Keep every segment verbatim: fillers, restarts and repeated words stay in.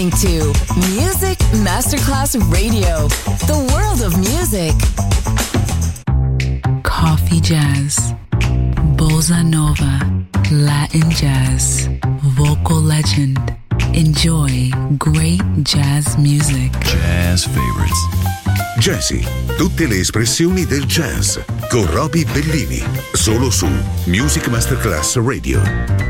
listening to Music Masterclass Radio, the world of music. Coffee jazz, bossa nova, Latin jazz, vocal legend. Enjoy great jazz music. Jazz favorites. Jazzy, tutte le espressioni del jazz con Roby Bellini, solo su Music Masterclass Radio.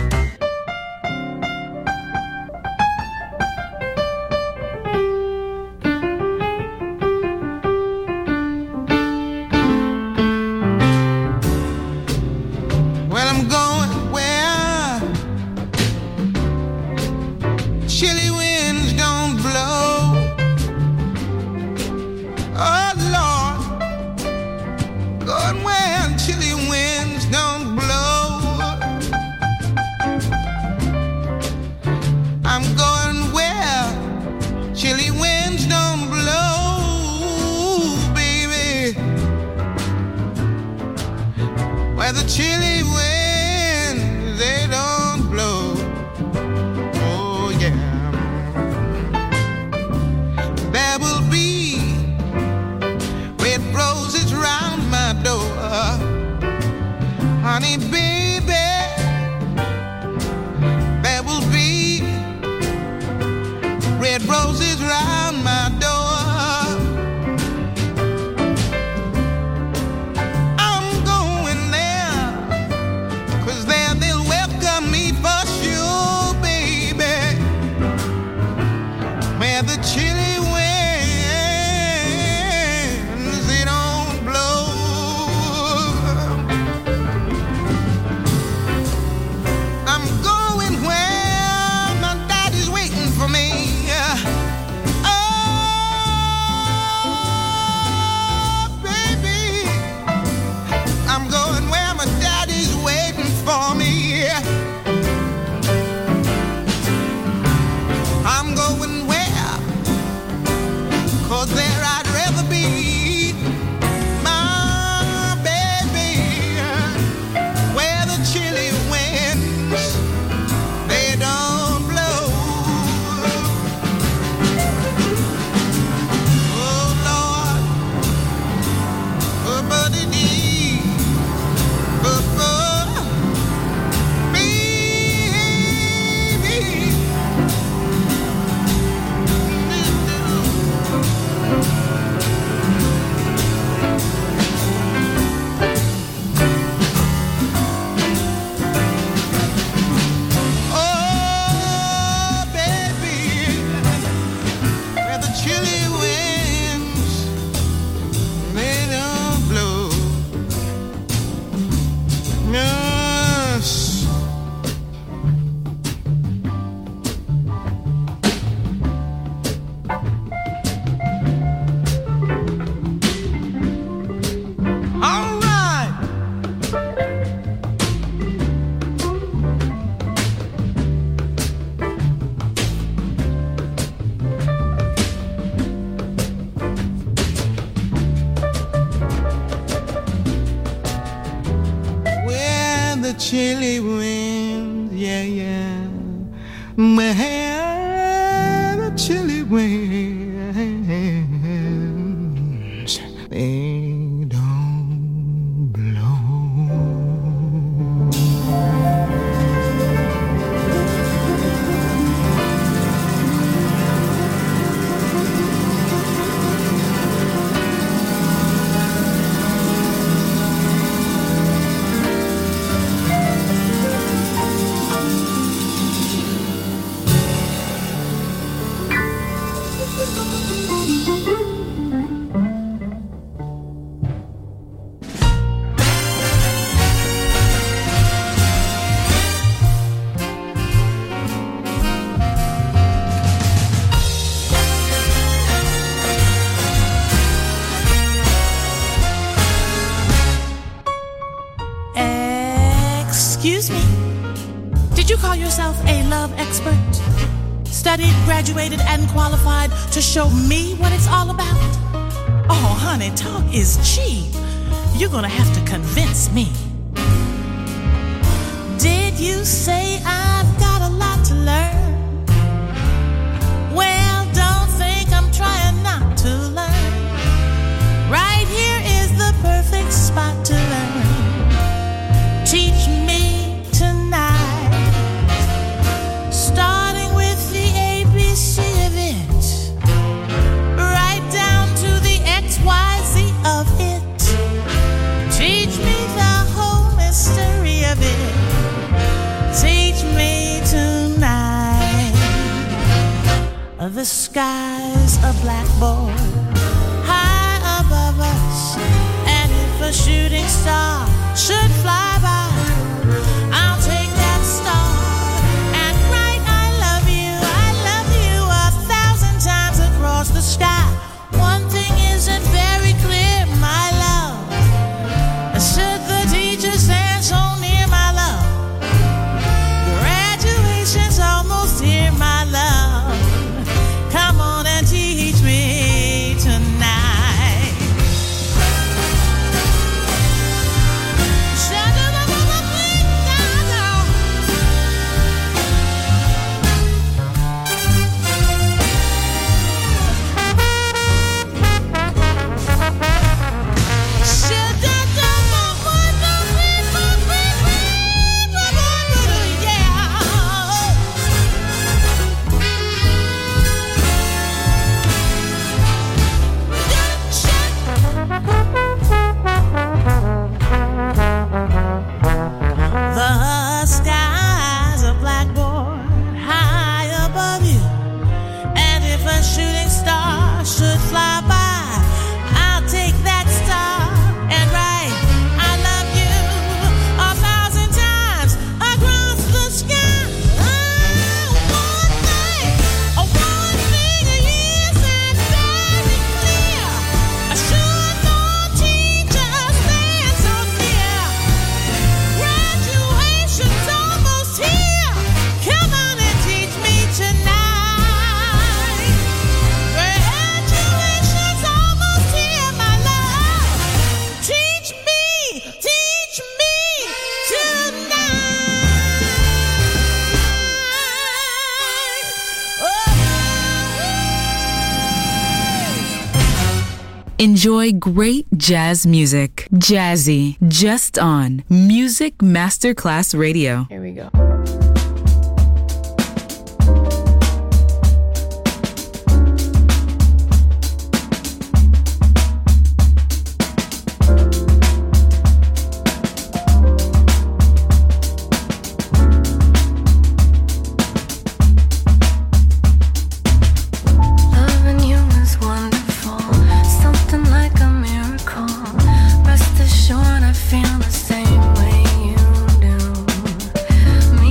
Chilly winds, yeah, yeah. Well, the chilly winds, they don't blow. Excuse me. Did you call yourself a love expert? Studied, graduated, and qualified to show me what it's all about? Oh, honey, talk is cheap. You're gonna have to convince me. Did you say I've got a lot to learn? When the sky's a blackboard high above us, and if a shooting star should fly by, I'll take that star and write I love you, I love you a thousand times across the sky. One thing isn't very clear, my love. Should the teacher stand so near, my love? Graduation's almost here, my love. Come on and teach me tonight. Shut up, up, up, up, down, down. Shut up, up, up, up, up, up, the sky's a blackboard high above you, and if a shooting star should fly by, I'll take that star and write I love you a thousand times across the sky. Oh, one thing, oh, one thing isn't very clear. Should no teacher stand so near? Graduation's almost here. Come on and teach me tonight. Graduation's almost here, my love. Teach me, teach me tonight. Oh. Enjoy great jazz music. Jazzy, just on Music Masterclass Radio. Here we go. Loving you is wonderful, something like a miracle. Rest assured I feel the same way you do. Me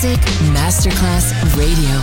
Music Masterclass Radio.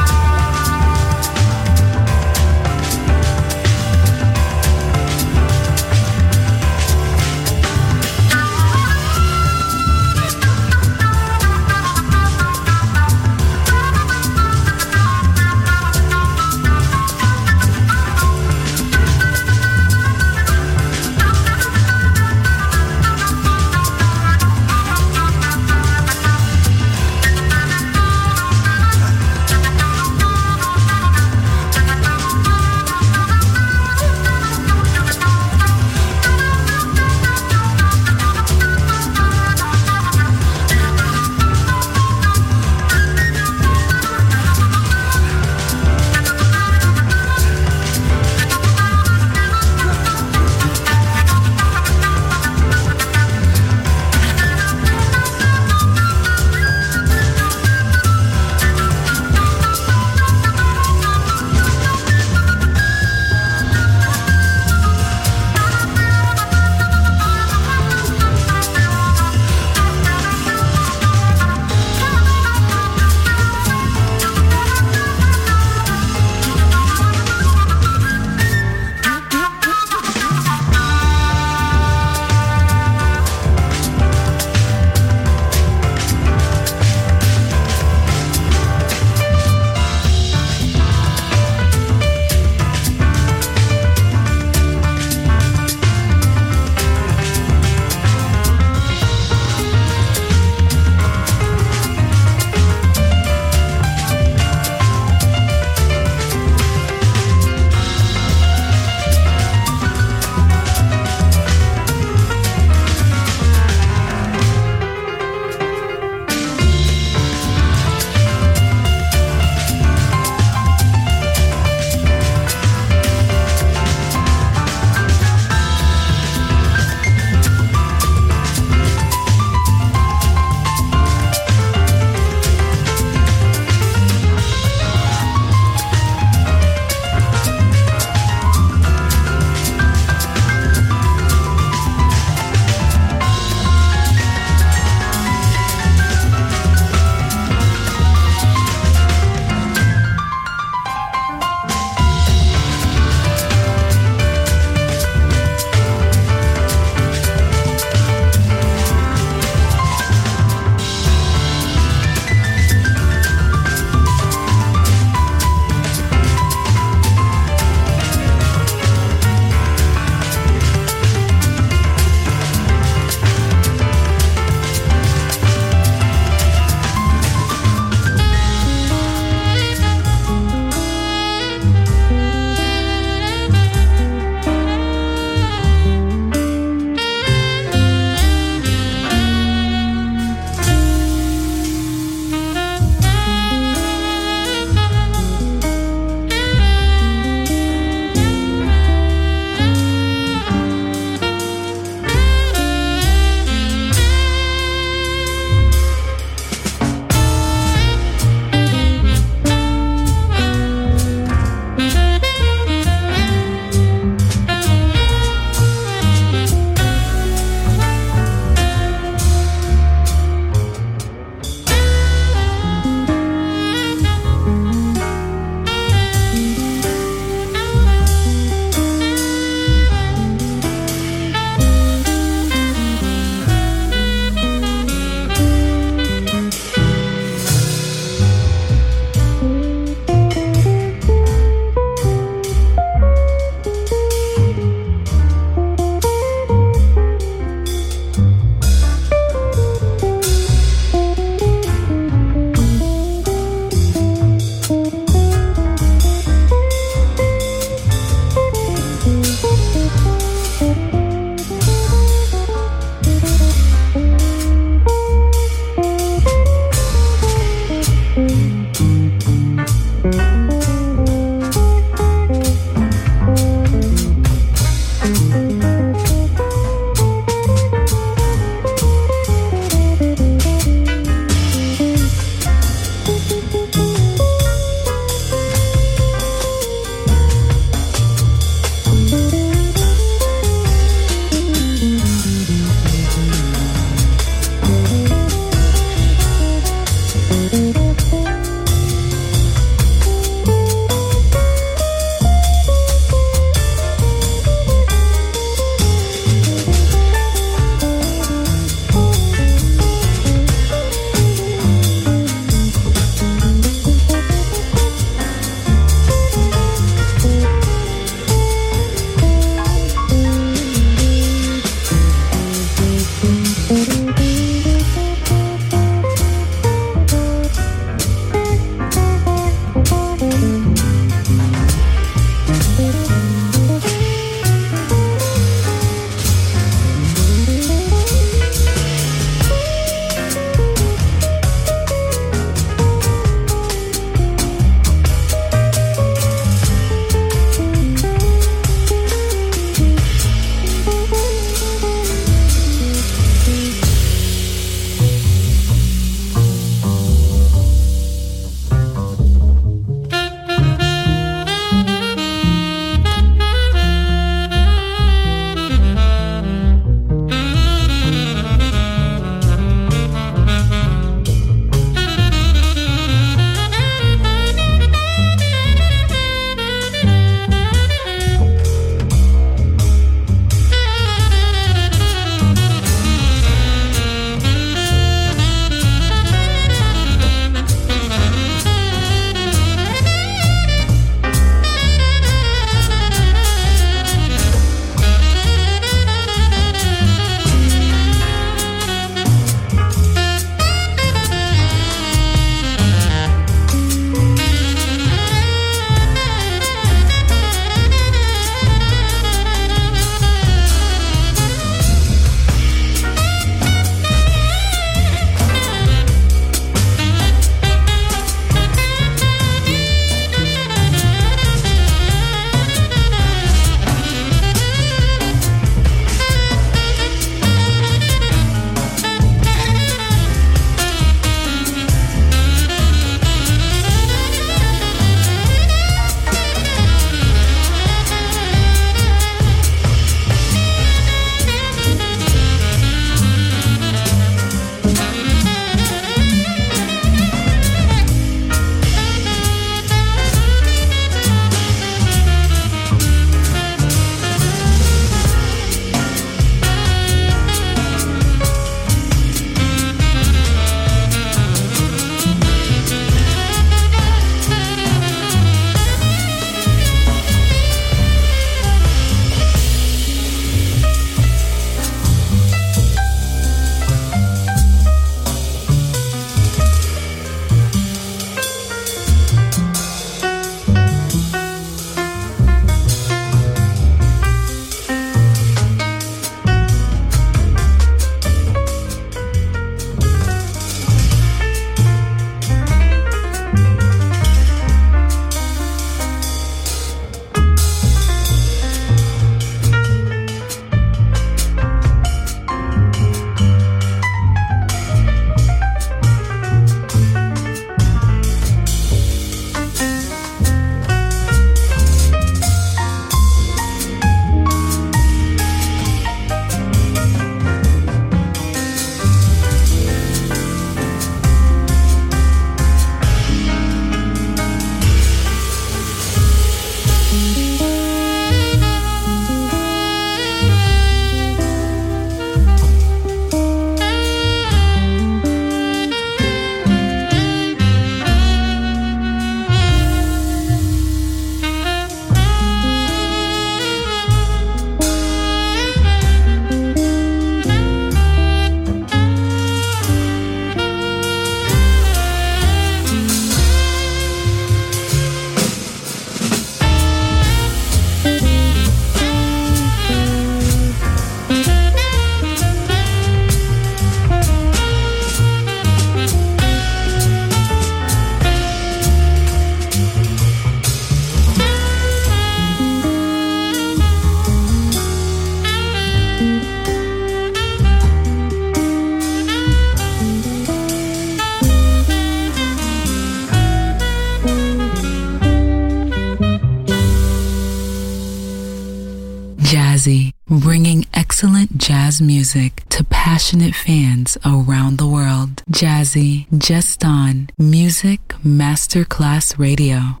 jazz music to passionate fans around the world. Jazzy, just on Music Masterclass Radio.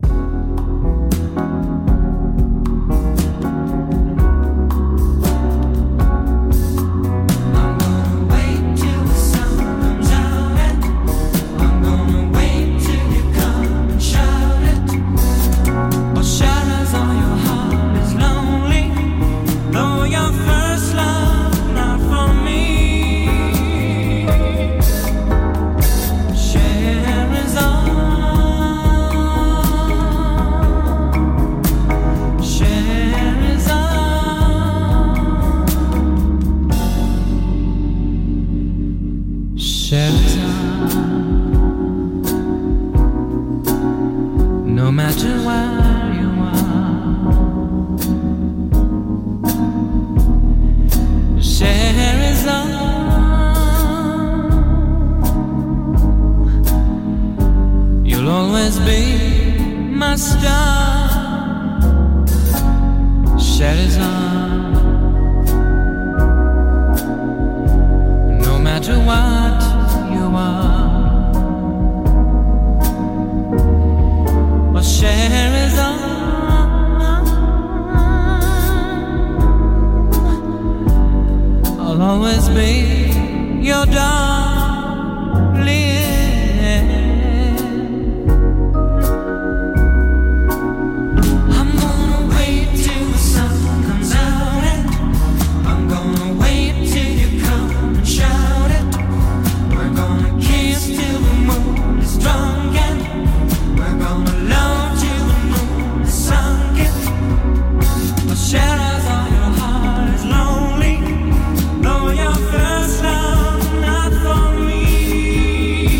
No matter where you are, share is on. You'll always be my star. Share is on. No matter what you are. Share is on. I'll always be your darling. I'm gonna wait till the sun comes out, and I'm gonna wait till you come and shout it. We're gonna kiss till the moon is drunk, and we're gonna love. Share as all your heart is lonely, though your first love not for me.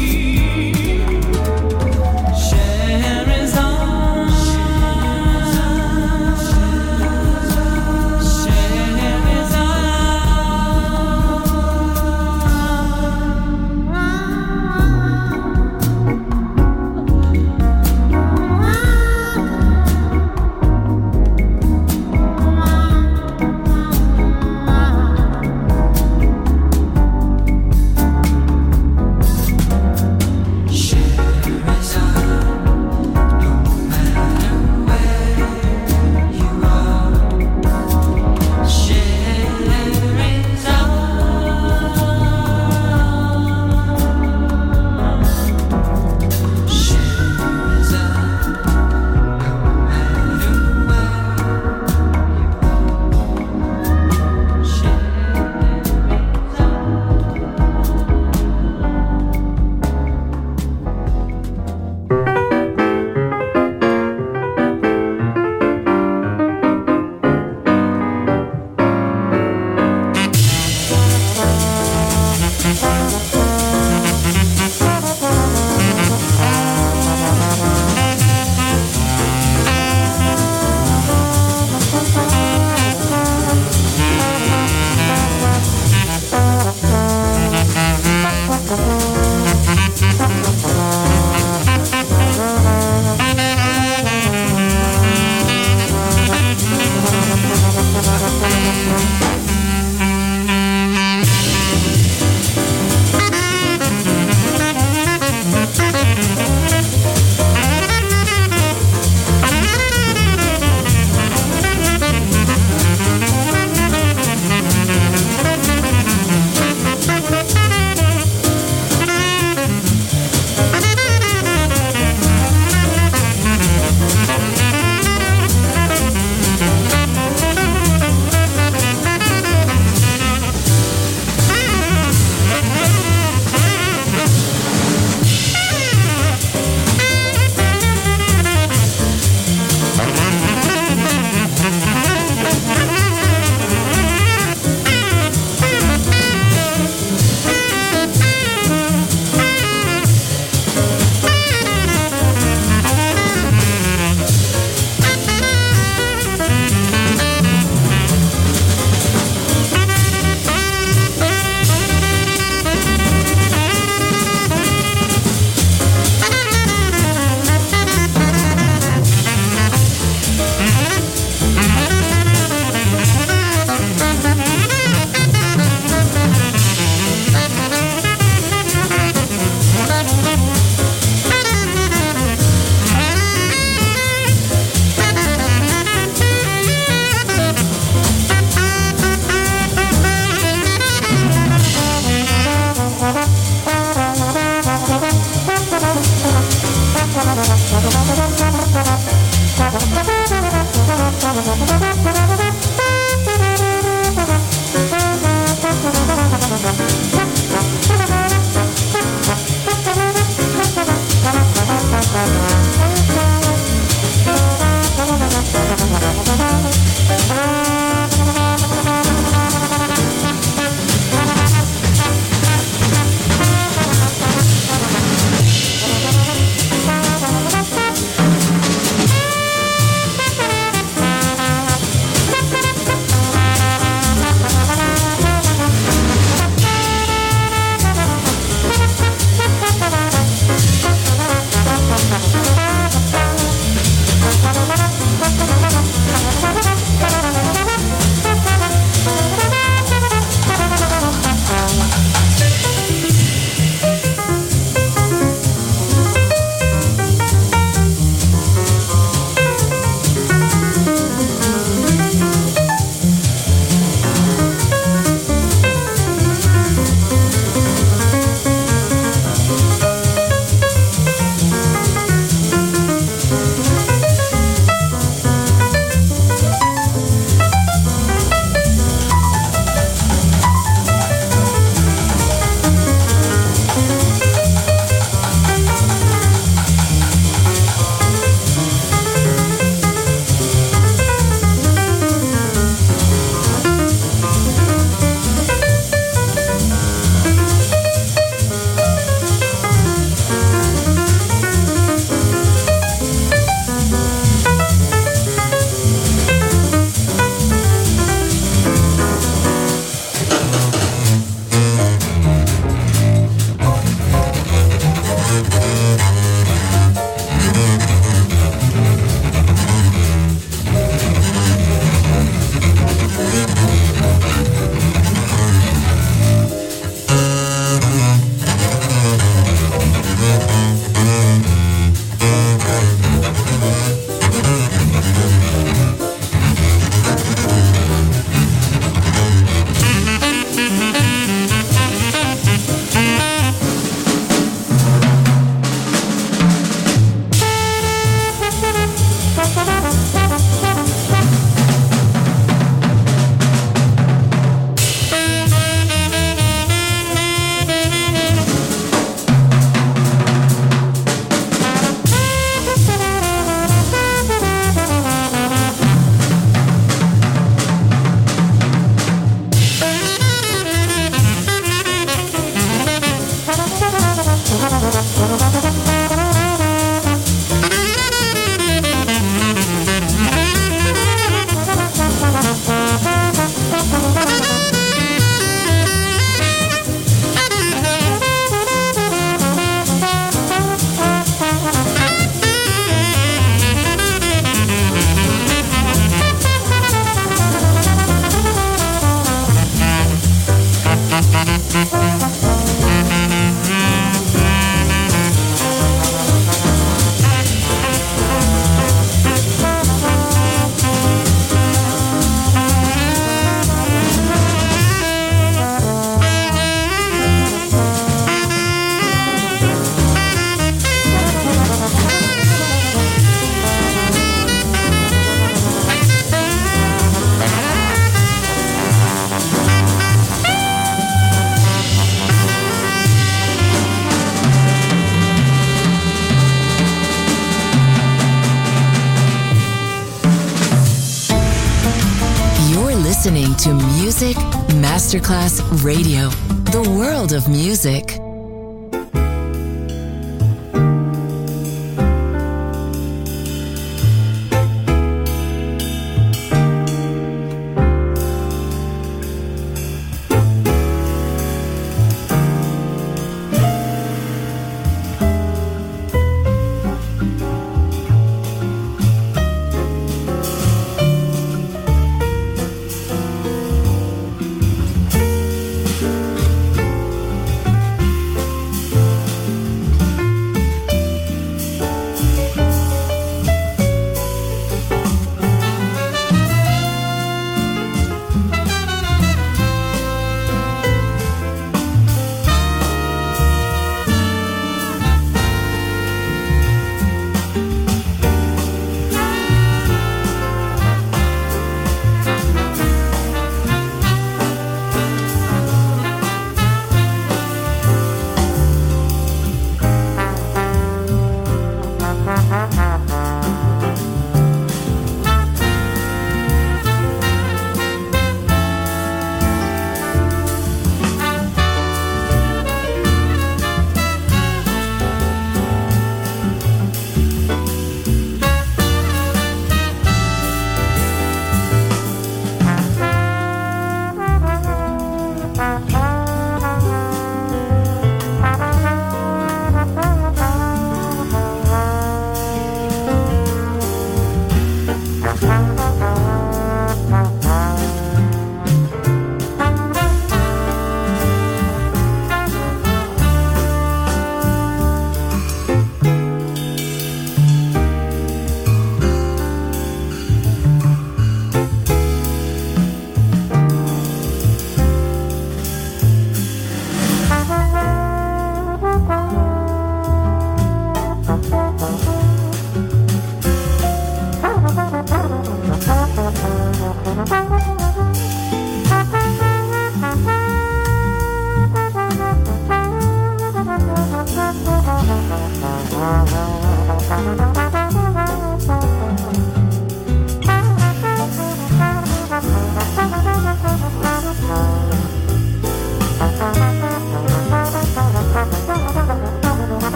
to Music Masterclass Radio, the world of music.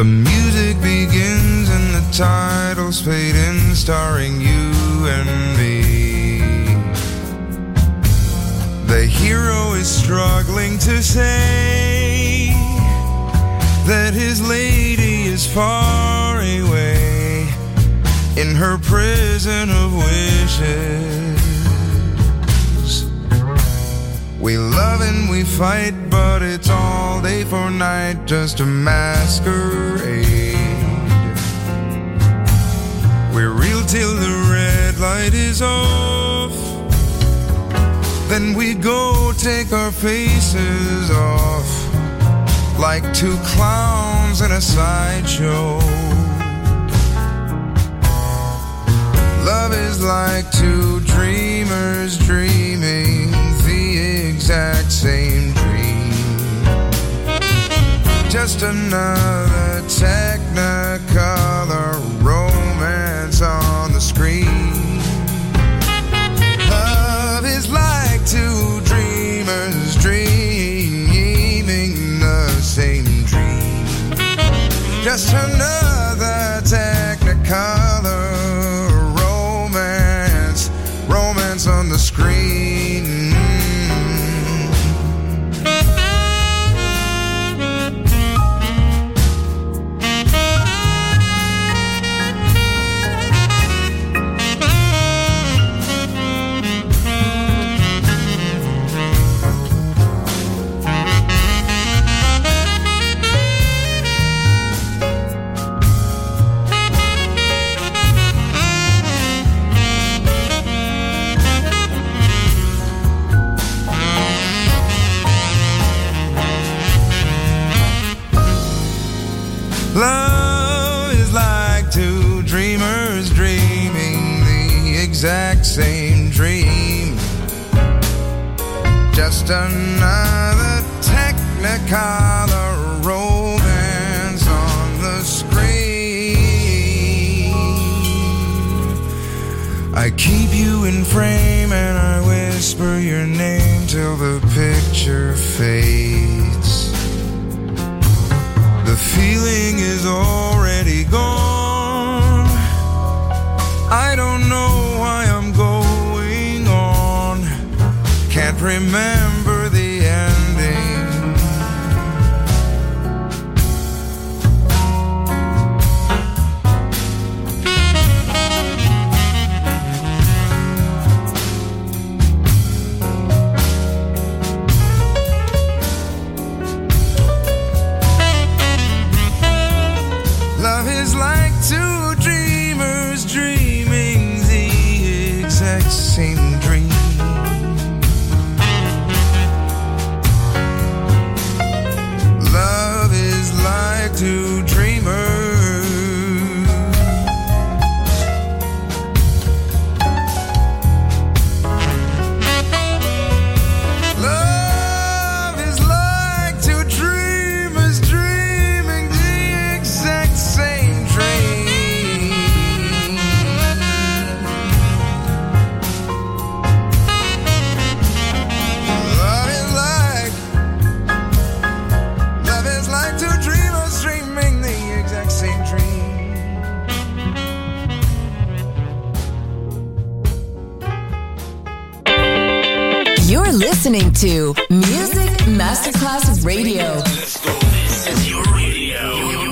The music begins and the titles fade in, starring you and me. The hero is struggling to say that his lady is far away in her prison of wishes. We love and we fight, but it's all day for night, just a masquerade. We're real till the red light is off, then we go take our faces off like two clowns in a sideshow. Love is like two dreamers dreaming the exact same dream. Just another technicolor romance on the screen. Love is like two dreamers dreaming the same dream. Just another technicolor romance, romance on the screen. Love is like two dreamers dreaming the exact same dream. Just another technicolor romance on the screen. I keep you in frame and I whisper your name till the picture fades. The feeling is already gone. I don't know why I'm going on. Can't remember the ending. Love is like two dreamers dreaming the exact same dream. Love is like two dreamers. Love is like two dreamers dreaming the exact same dream. Love is like, love is like two dreamers dreaming the exact same dream. You're listening to Music Masterclass Radio. Let's go. This is your radio.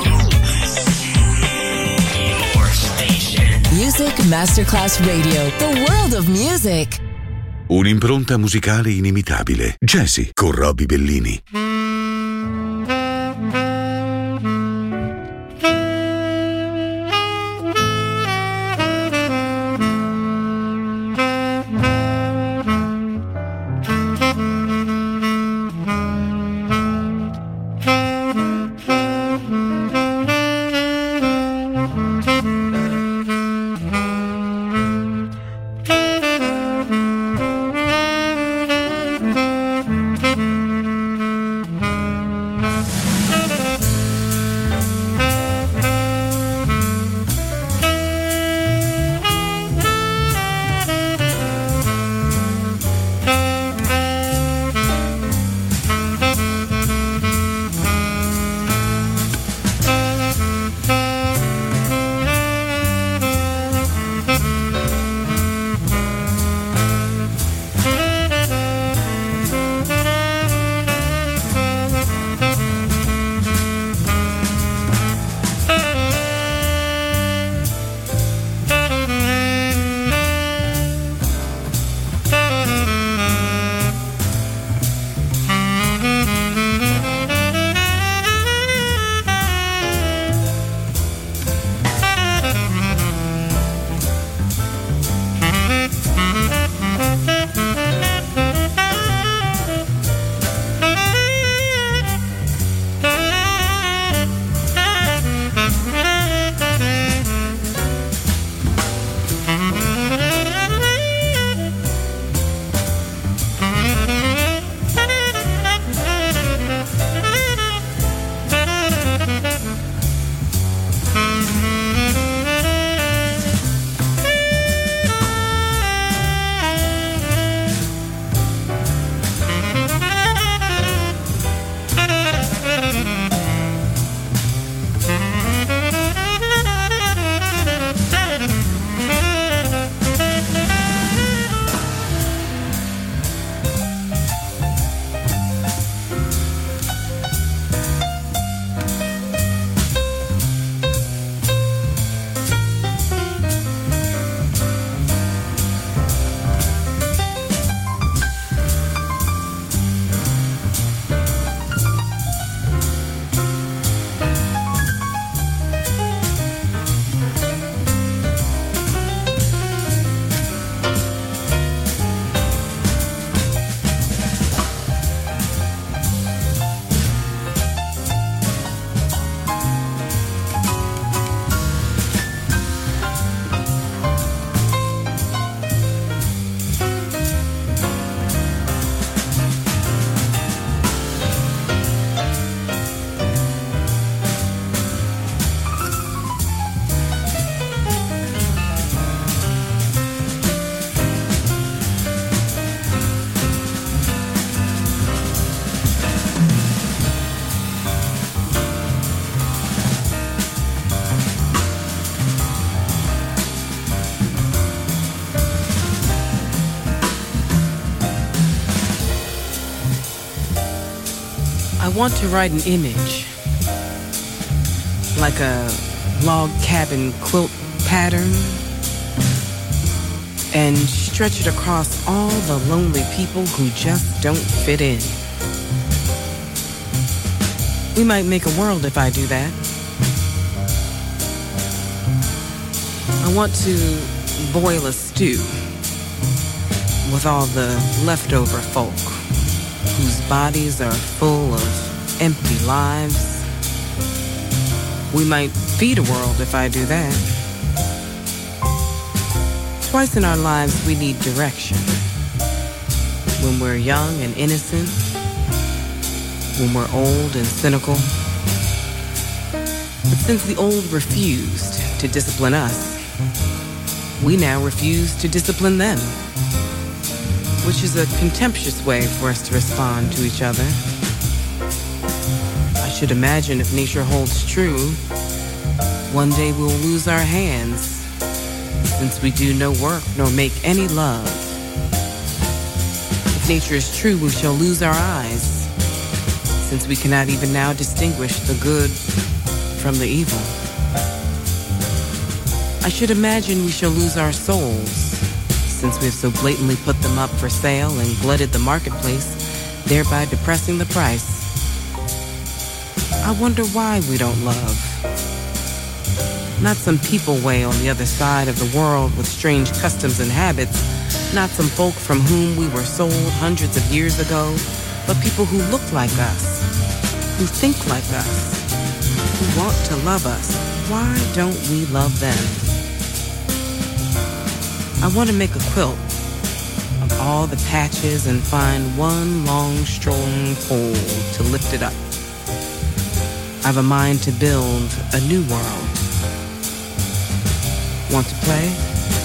Your station. Music Masterclass Radio. The world of music. Un'impronta musicale inimitabile. Jazzy con Roby Bellini. want to write an image, like a log cabin quilt pattern, and stretch it across all the lonely people who just don't fit in. We might make a world if I do that. I want to boil a stew with all the leftover folk whose bodies are full of empty lives. We might feed a world if I do that. Twice in our lives we need direction. When we're young and innocent, when we're old and cynical. But since the old refused to discipline us, we now refuse to discipline them, which is a contemptuous way for us to respond to each other. I should imagine if nature holds true, one day we'll lose our hands, since we do no work nor make any love. If nature is true, we shall lose our eyes, since we cannot even now distinguish the good from the evil. I should imagine we shall lose our souls, since we have so blatantly put them up for sale and glutted the marketplace, thereby depressing the price. I wonder why we don't love. Not some people way on the other side of the world with strange customs and habits, not some folk from whom we were sold hundreds of years ago, but people who look like us, who think like us, who want to love us. Why don't we love them? I want to make a quilt of all the patches and find one long, strong pole to lift it up. I've a mind to build a new world. Want to play?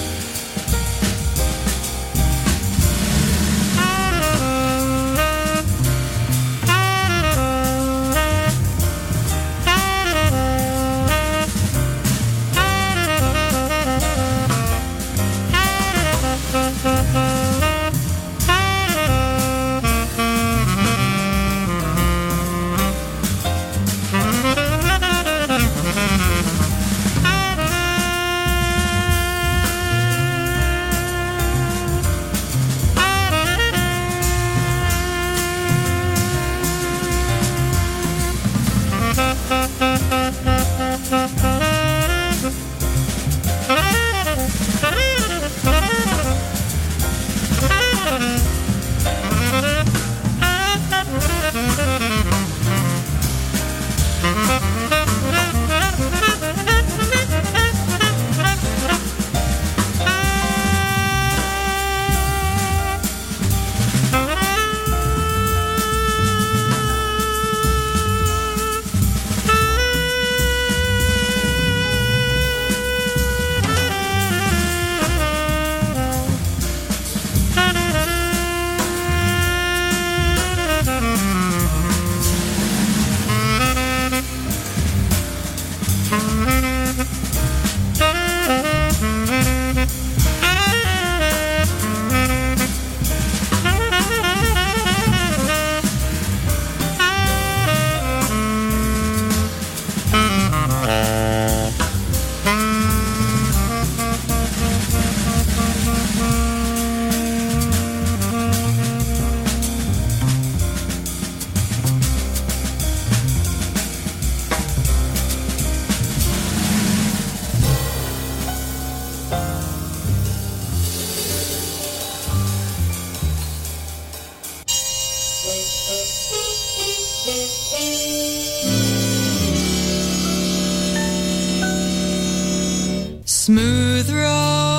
Smooth road,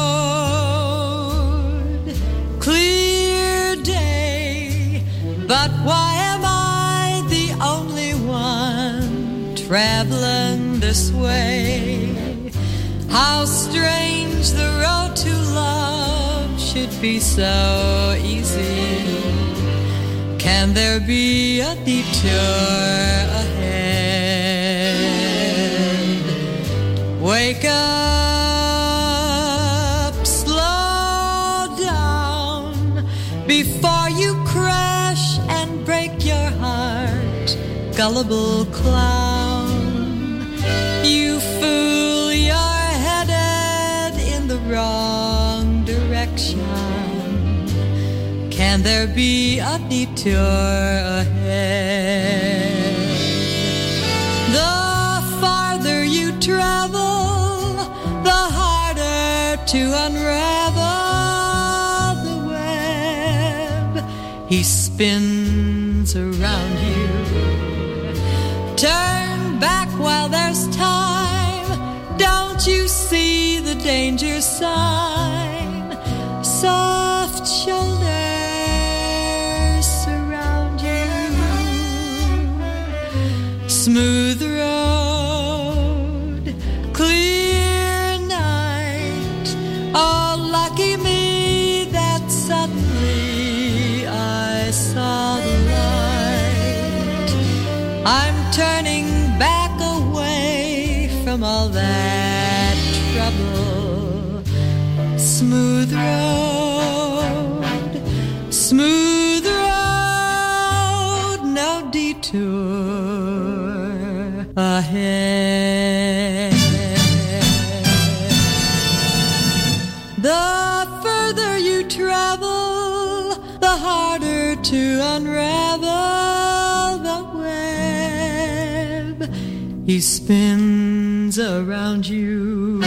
clear day, but why am I the only one traveling this way? How strange the road to love should be so easy. Can there be a detour ahead? Wake up, slow down before you crash and break your heart. gullible clown. You fool, you're headed in the wrong direction. Can there be a detour ahead? The farther you travel, the harder to unravel the web. He spins around you. Turn back while there's time. Don't you see the danger sign? Soft shoulders surround you. Smooth road, clear night. Oh, lucky me that suddenly I saw the light. I'm turning back away from all that trouble. Smooth road, smooth road, no detour ahead. The further you travel, the harder to unravel the web. He spins around you.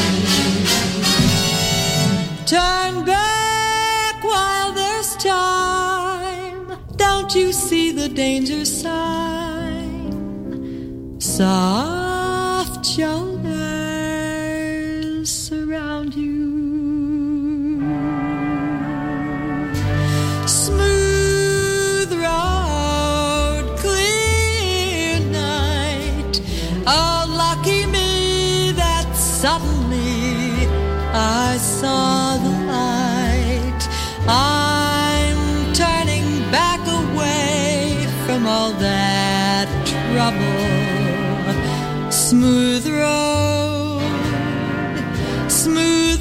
Turn back while there's time. Don't you see the danger sign? Soft shoulders surround you. Smooth road, clear night. Oh, lucky me that suddenly I saw the light. I'm turning back away from all that trouble. Smooth road, smooth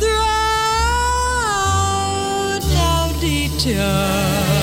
road, no detour.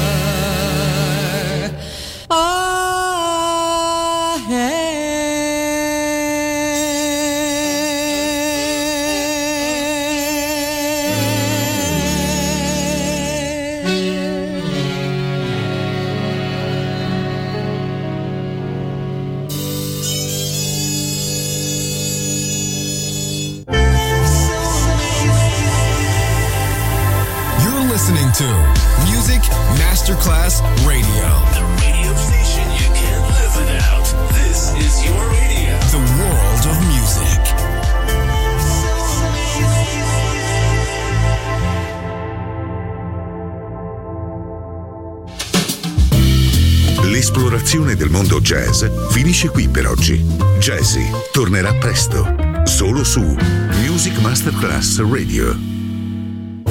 To Music Masterclass Radio. The radio station you can't live without. This is your radio. The world of music. L'esplorazione del mondo jazz finisce qui per oggi. Jazzy tornerà presto, solo su Music Masterclass Radio.